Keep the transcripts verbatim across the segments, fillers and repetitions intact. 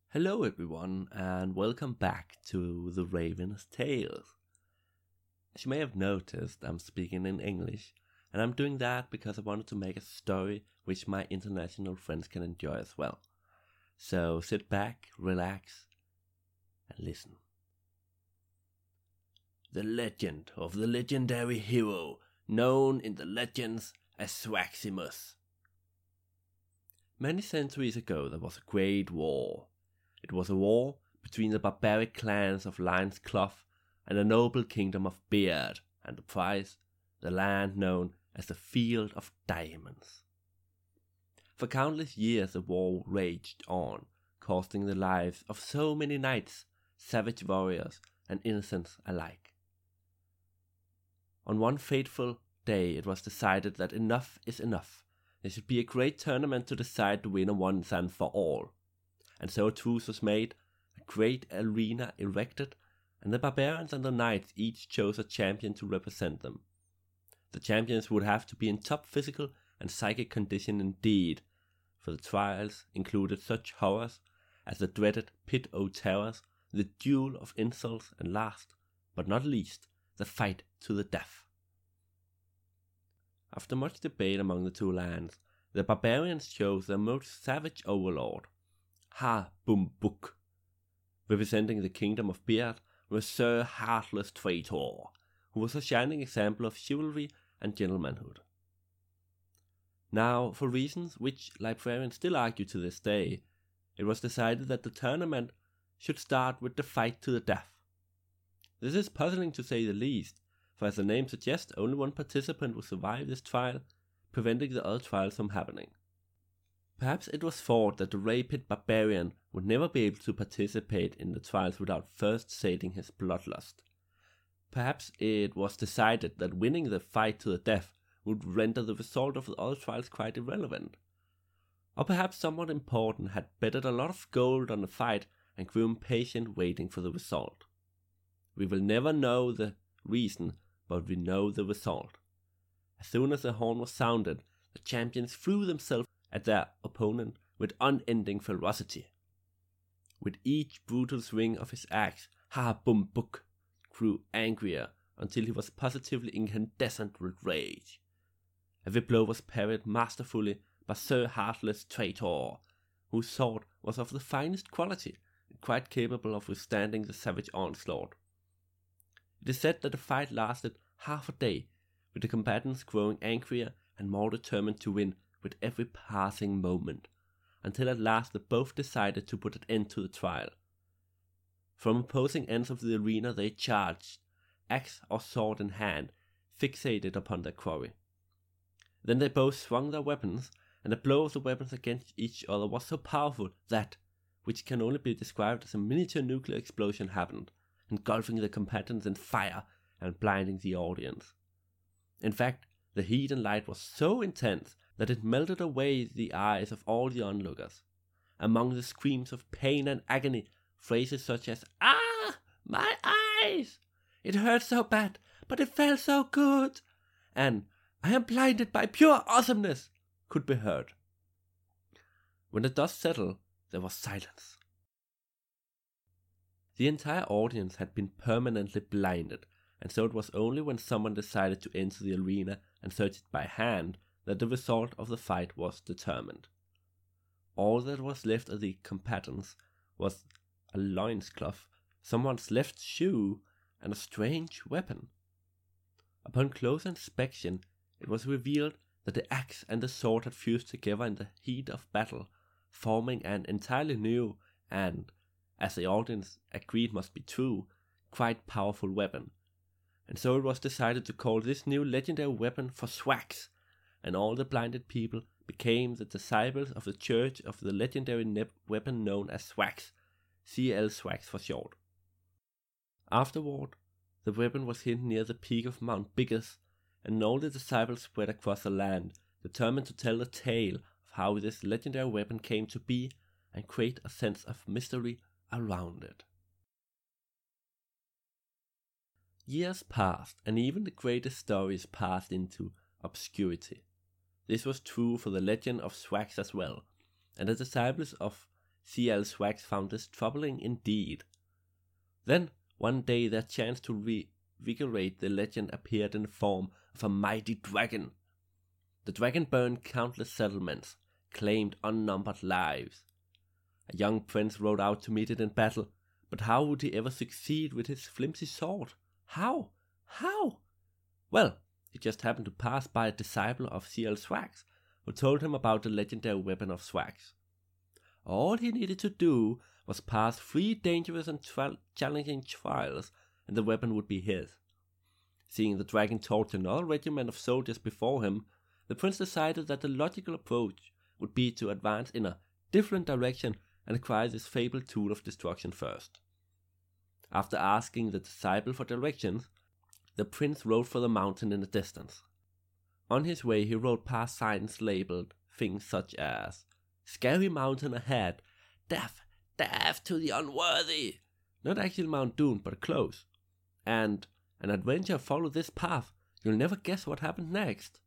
Hello everyone and welcome back to The Raven's Tales. As you may have noticed, I'm speaking in English, and I'm doing that because I wanted to make a story which my international friends can enjoy as well. So sit back, relax, and listen. The legend of the legendary hero known in the legends as Swaximus. Many centuries ago there was a great war. It was a war between the barbaric clans of Lion's Clough and the noble kingdom of Beard, and the prize, the land known as the Field of Diamonds. For countless years the war raged on, costing the lives of so many knights, savage warriors, and innocents alike. On one fateful day it was decided that enough is enough. There should be a great tournament to decide the winner once and for all. And so a truce was made, a great arena erected, and the barbarians and the knights each chose a champion to represent them. The champions would have to be in top physical and psychic condition indeed, for the trials included such horrors as the dreaded Pit o' Terrors, the duel of insults, and last, but not least, the fight to the death. After much debate among the two lands, the barbarians chose their most savage overlord, Ha Bum Buk. Representing the kingdom of Beard was Sir Heartless Traitor, who was a shining example of chivalry and gentlemanhood. Now, for reasons which librarians still argue to this day, it was decided that the tournament should start with the fight to the death. This is puzzling to say the least, for as the name suggests, only one participant will survive this trial, preventing the other trials from happening. Perhaps it was thought that the rapid barbarian would never be able to participate in the trials without first sating his bloodlust. Perhaps it was decided that winning the fight to the death would render the result of the other trials quite irrelevant. Or perhaps someone important had betted a lot of gold on the fight and grew impatient waiting for the result. We will never know the reason, but we know the result. As soon as the horn was sounded, the champions threw themselves at their opponent with unending ferocity. With each brutal swing of his axe, Ha Bum Buk grew angrier until he was positively incandescent with rage. Every blow was parried masterfully by Sir Heartless Traitor, whose sword was of the finest quality and quite capable of withstanding the savage onslaught. It is said that the fight lasted half a day, with the combatants growing angrier and more determined to win with every passing moment, until at last they both decided to put an end to the trial. From opposing ends of the arena they charged, axe or sword in hand, fixated upon their quarry. Then they both swung their weapons, and the blow of the weapons against each other was so powerful that, which can only be described as a miniature nuclear explosion happened, engulfing the combatants in fire and blinding the audience. In fact, the heat and light was so intense that it melted away the eyes of all the onlookers. Among the screams of pain and agony, phrases such as, "Ah, my eyes! It hurt so bad, but it felt so good!" and "I am blinded by pure awesomeness!" could be heard. When the dust settled, there was silence. The entire audience had been permanently blinded, and so it was only when someone decided to enter the arena and search it by hand that the result of the fight was determined. All that was left of the combatants was a loincloth, someone's left shoe, and a strange weapon. Upon close inspection, it was revealed that the axe and the sword had fused together in the heat of battle, forming an entirely new and, as the audience agreed must be true, quite powerful weapon. And so it was decided to call this new legendary weapon for Swax, and all the blinded people became the disciples of the Church of the legendary ne- weapon known as Swax, C L Swax for short. Afterward, the weapon was hidden near the peak of Mount Biggers, and all the disciples spread across the land, determined to tell the tale of how this legendary weapon came to be and create a sense of mystery around it. Years passed, and even the greatest stories passed into obscurity. This was true for the legend of Swax as well, and the disciples of C L Swags found this troubling indeed. Then, one day their chance to revigorate the legend appeared in the form of a mighty dragon. The dragon burned countless settlements, claimed unnumbered lives. A young prince rode out to meet it in battle, but how would he ever succeed with his flimsy sword? How? How? Well, he just happened to pass by a disciple of C L Swags, who told him about the legendary weapon of Swags. All he needed to do was pass three dangerous and tra- challenging trials, and the weapon would be his. Seeing the dragon torch another regiment of soldiers before him, the prince decided that the logical approach would be to advance in a different direction and acquire this fabled tool of destruction first. After asking the disciple for directions, the prince rode for the mountain in the distance. On his way he rode past signs labeled things such as "Scary mountain ahead, death, death to the unworthy," not actually Mount Doom but close, and "An adventure follow this path, you'll never guess what happened next."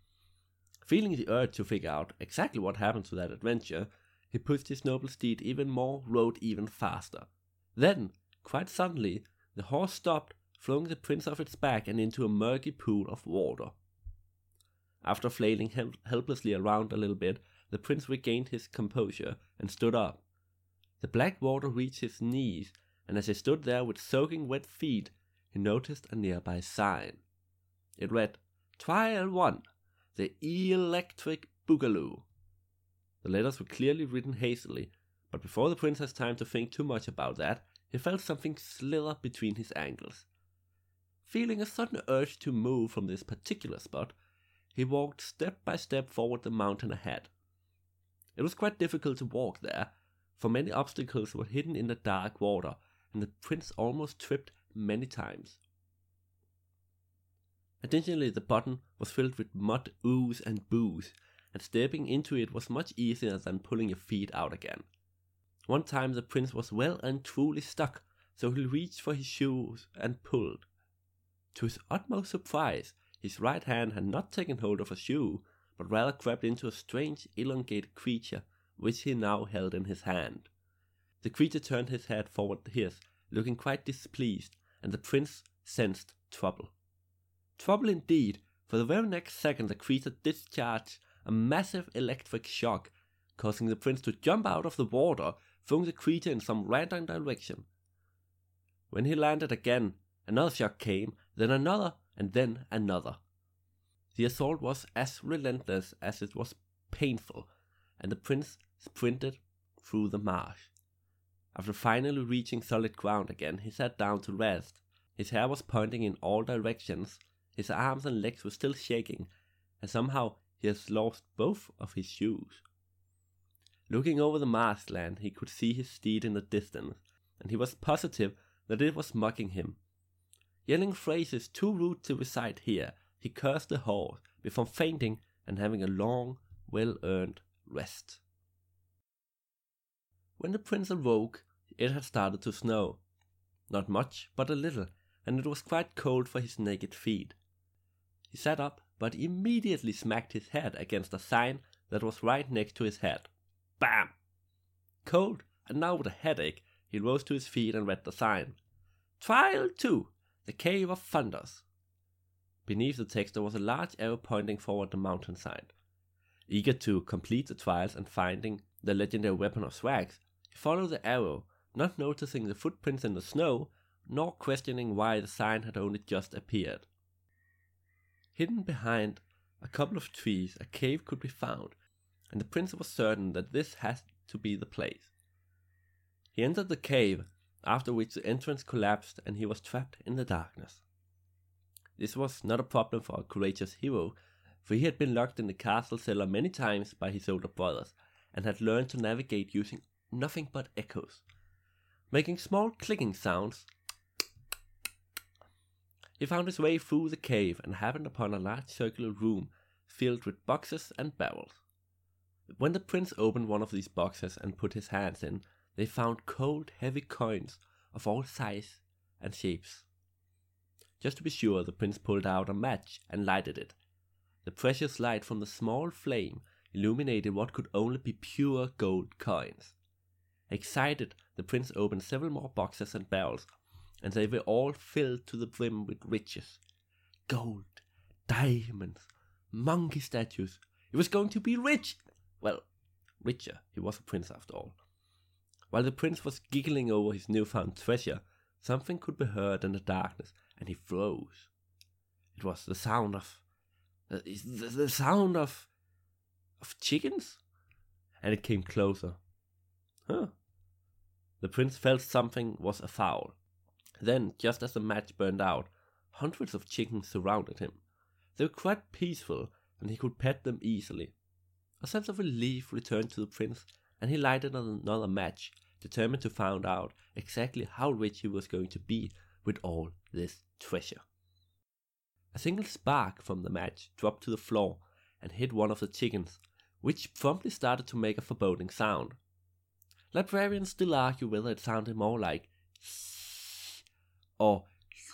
Feeling the urge to figure out exactly what happened to that adventure, he pushed his noble steed even more, rode even faster. Then, quite suddenly, the horse stopped, throwing the prince off its back and into a murky pool of water. After flailing hel- helplessly around a little bit, the prince regained his composure and stood up. The black water reached his knees, and as he stood there with soaking wet feet, he noticed a nearby sign. It read, "Trial one, the Electric Boogaloo." The letters were clearly written hastily, but before the prince has time to think too much about that, he felt something slither between his ankles. Feeling a sudden urge to move from this particular spot, he walked step by step forward the mountain ahead. It was quite difficult to walk there, for many obstacles were hidden in the dark water, and the prince almost tripped many times. Additionally, the bottom was filled with mud, ooze, and booze, and stepping into it was much easier than pulling your feet out again. One time the prince was well and truly stuck, so he reached for his shoes and pulled. To his utmost surprise, his right hand had not taken hold of a shoe, but rather grabbed into a strange, elongated creature, which he now held in his hand. The creature turned his head forward to his, looking quite displeased, and the prince sensed trouble. Trouble indeed, for the very next second the creature discharged a massive electric shock, causing the prince to jump out of the water, throwing the creature in some random direction. When he landed again, another shock came, then another, and then another. The assault was as relentless as it was painful, and the prince sprinted through the marsh. After finally reaching solid ground again, he sat down to rest. His hair was pointing in all directions, his arms and legs were still shaking, and somehow he has lost both of his shoes. Looking over the marshland, he could see his steed in the distance, and he was positive that it was mocking him. Yelling phrases too rude to recite here, he cursed the horse before fainting and having a long, well-earned rest. When the prince awoke, it had started to snow. Not much, but a little, and it was quite cold for his naked feet. He sat up, but immediately smacked his head against a sign that was right next to his head. Bam! Cold, and now with a headache, he rose to his feet and read the sign. Trial two, the Cave of Thunders. Beneath the text there was a large arrow pointing forward the mountainside. Eager to complete the trials and finding the legendary weapon of Swags, he followed the arrow, not noticing the footprints in the snow, nor questioning why the sign had only just appeared. Hidden behind a couple of trees, a cave could be found, and the prince was certain that this had to be the place. He entered the cave, after which the entrance collapsed and he was trapped in the darkness. This was not a problem for a courageous hero, for he had been locked in the castle cellar many times by his older brothers, and had learned to navigate using nothing but echoes, making small clicking sounds. He found his way through the cave and happened upon a large circular room filled with boxes and barrels. When the prince opened one of these boxes and put his hands in, they found cold, heavy coins of all sizes and shapes. Just to be sure, the prince pulled out a match and lighted it. The precious light from the small flame illuminated what could only be pure gold coins. Excited, the prince opened several more boxes and barrels, and they were all filled to the brim with riches. Gold, diamonds, monkey statues. He was going to be rich! Well, richer. He was a prince after all. While the prince was giggling over his newfound treasure, something could be heard in the darkness, and he froze. It was the sound of... Uh, the, the sound of... of chickens? And it came closer. Huh. The prince felt something was afoul. Then, just as the match burned out, hundreds of chickens surrounded him. They were quite peaceful, and he could pet them easily. A sense of relief returned to the prince, and he lighted another match, determined to find out exactly how rich he was going to be with all this treasure. A single spark from the match dropped to the floor and hit one of the chickens, which promptly started to make a foreboding sound. Librarians still argue whether it sounded more like or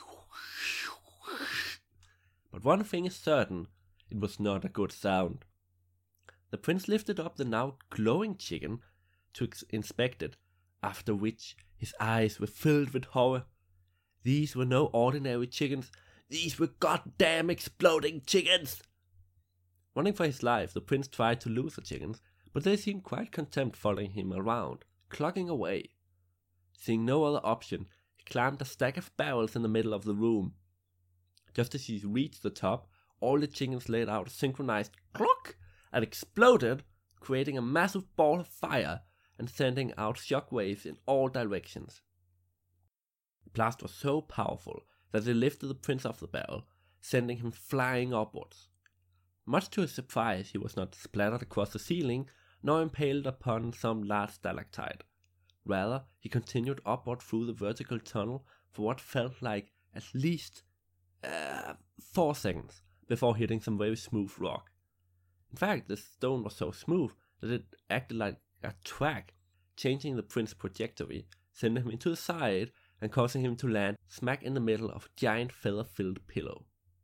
but one thing is certain, it was not a good sound. The prince lifted up the now glowing chicken to ex- inspect it, after which his eyes were filled with horror. These were no ordinary chickens, these were goddamn exploding chickens! Running for his life, the prince tried to lose the chickens, but they seemed quite content following him around, clocking away. Seeing no other option, he climbed a stack of barrels in the middle of the room. Just as he reached the top, all the chickens let out a synchronized clock and exploded, creating a massive ball of fire and sending out shockwaves in all directions. The blast was so powerful that it lifted the prince off the barrel, sending him flying upwards. Much to his surprise, he was not splattered across the ceiling, nor impaled upon some large stalactite. Rather, he continued upward through the vertical tunnel for what felt like at least uh, four seconds before hitting some very smooth rock. In fact, the stone was so smooth that it acted like a track, changing the prince's trajectory, sending him into the side and causing him to land smack in the middle of a giant feather-filled pillow.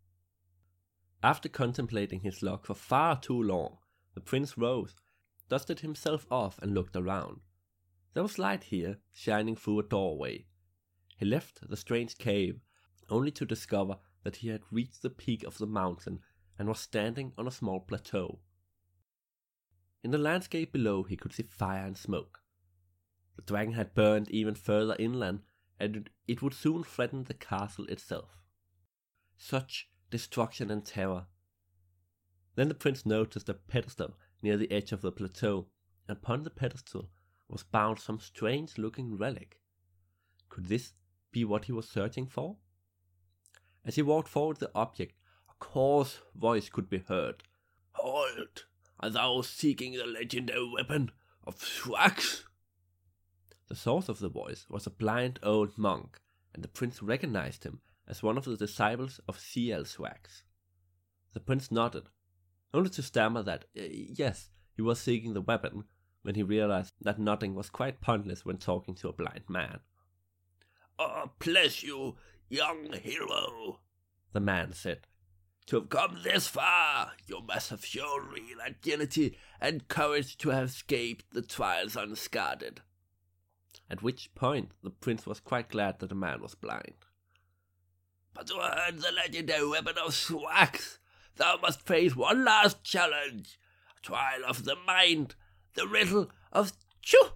After contemplating his luck for far too long, the prince rose, dusted himself off and looked around. There was light here, shining through a doorway. He left the strange cave, only to discover that he had reached the peak of the mountain and was standing on a small plateau. In the landscape below he could see fire and smoke. The dragon had burned even further inland, and it would soon threaten the castle itself. Such destruction and terror. Then the prince noticed a pedestal near the edge of the plateau, and upon the pedestal was bound some strange-looking relic. Could this be what he was searching for? As he walked forward the object, a coarse voice could be heard. "Halt! Are thou seeking the legendary weapon of Thrax?" The source of the voice was a blind old monk, and the prince recognized him as one of the disciples of Ciel Thrax. The prince nodded, only to stammer that, uh, yes, he was seeking the weapon, when he realized that nodding was quite pointless when talking to a blind man. "Oh, bless you, young hero," the man said. "To have come this far, you must have shown real agility and courage to have escaped the trials unscathed." At which point the prince was quite glad that the man was blind. "But to earn the legendary weapon of Thrax, thou must face one last challenge, a trial of the mind, the riddle of Chu."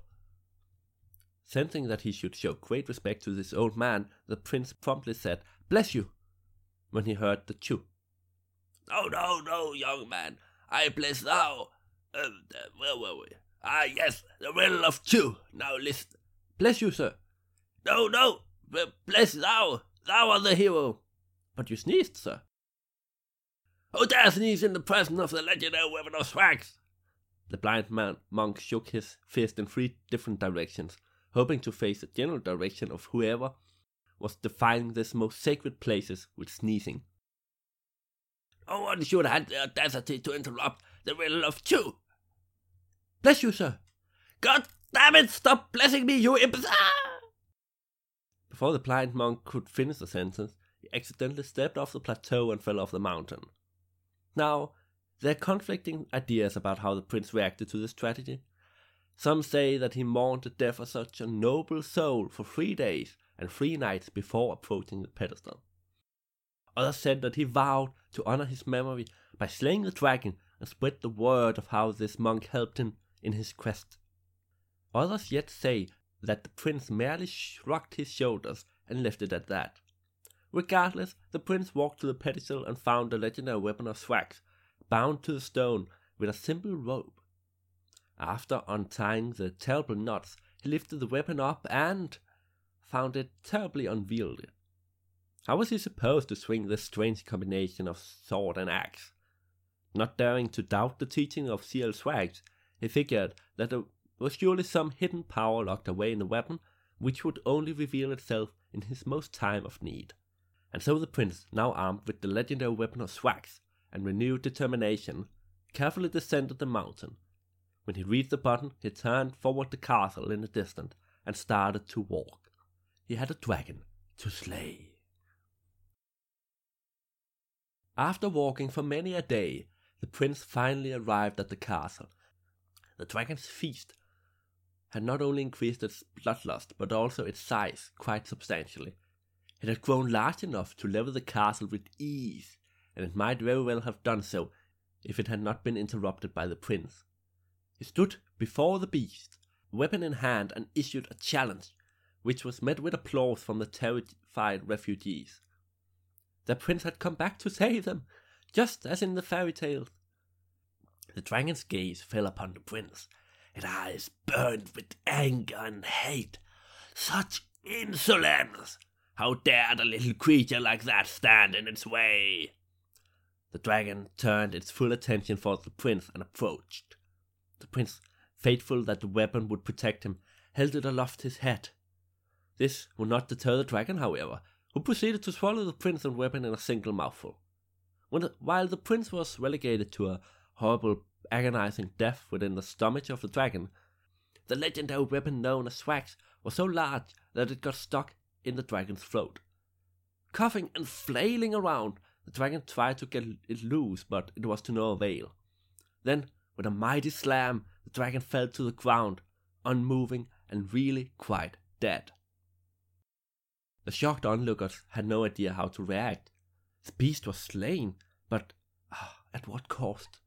Sensing that he should show great respect to this old man, the prince promptly said, "Bless you," when he heard the Chu. "No, no, no, young man, I bless thou. Uh, uh, where were we? Ah, yes, the riddle of Chu. Now listen." "Bless you, sir." "No, no, bless thou. Thou art the hero." "But you sneezed, sir." "Who dare sneeze in the presence of the legendary weapon of Thrax?" The blind man monk shook his fist in three different directions, hoping to face the general direction of whoever was defining this most sacred places with sneezing. "No one should have the audacity to interrupt the riddle of Chu." "Bless you, sir." "God damn it, stop blessing me, you imps!" Before the blind monk could finish the sentence, he accidentally stepped off the plateau and fell off the mountain. Now, there are conflicting ideas about how the prince reacted to this tragedy. Some say that he mourned the death of such a noble soul for three days and three nights before approaching the pedestal. Others said that he vowed to honor his memory by slaying the dragon and spread the word of how this monk helped him in his quest. Others yet say that the prince merely shrugged his shoulders and left it at that. Regardless, the prince walked to the pedestal and found the legendary weapon of Thrax, bound to the stone with a simple rope. After untying the terrible knots, he lifted the weapon up and found it terribly unwieldy. How was he supposed to swing this strange combination of sword and axe? Not daring to doubt the teaching of C L Thrax, he figured that there was surely some hidden power locked away in the weapon, which would only reveal itself in his most time of need. And so the prince, now armed with the legendary weapon of Thrax and renewed determination, carefully descended the mountain. When he reached the bottom, he turned forward the castle in the distance and started to walk. He had a dragon to slay. After walking for many a day, the prince finally arrived at the castle. The dragon's feast had not only increased its bloodlust, but also its size quite substantially. It had grown large enough to level the castle with ease, and it might very well have done so if it had not been interrupted by the prince. He stood before the beast, weapon in hand, and issued a challenge, which was met with applause from the terrified refugees. The prince had come back to save them, just as in the fairy tales. The dragon's gaze fell upon the prince. Its eyes burned with anger and hate. Such insolence! How dared a little creature like that stand in its way? The dragon turned its full attention towards the prince and approached. The prince, faithful that the weapon would protect him, held it aloft his head. This would not deter the dragon, however, who proceeded to swallow the prince and weapon in a single mouthful. When the, while the prince was relegated to a horrible, agonizing death within the stomach of the dragon, the legendary weapon known as Thrax was so large that it got stuck in the dragon's throat. Coughing and flailing around, the dragon tried to get it loose, but it was to no avail. Then, with a mighty slam, the dragon fell to the ground, unmoving and really quite dead. The shocked onlookers had no idea how to react. The beast was slain, but uh, at what cost?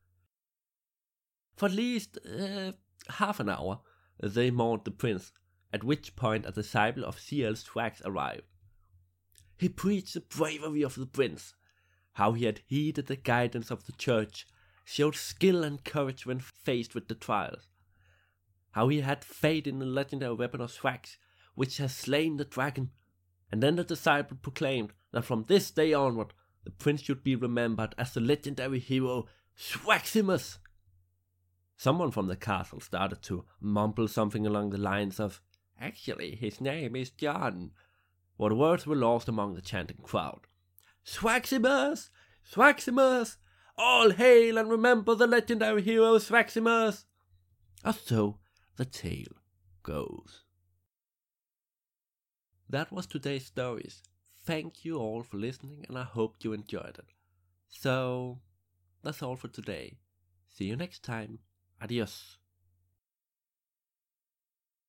For at least uh, half an hour, they mourned the prince, at which point a disciple of C L Thrax arrived. He preached the bravery of the prince, how he had heeded the guidance of the church, showed skill and courage when faced with the trials, how he had faith in the legendary weapon of Thrax, which has slain the dragon. And then the disciple proclaimed that from this day onward, the prince should be remembered as the legendary hero Thraximus. Someone from the castle started to mumble something along the lines of, "Actually, his name is John," but the words were lost among the chanting crowd. Thraximus! Thraximus! All hail and remember the legendary hero Thraximus! Or so the tale goes. That was today's stories. Thank you all for listening, and I hope you enjoyed it. So, that's all for today. See you next time. Adios.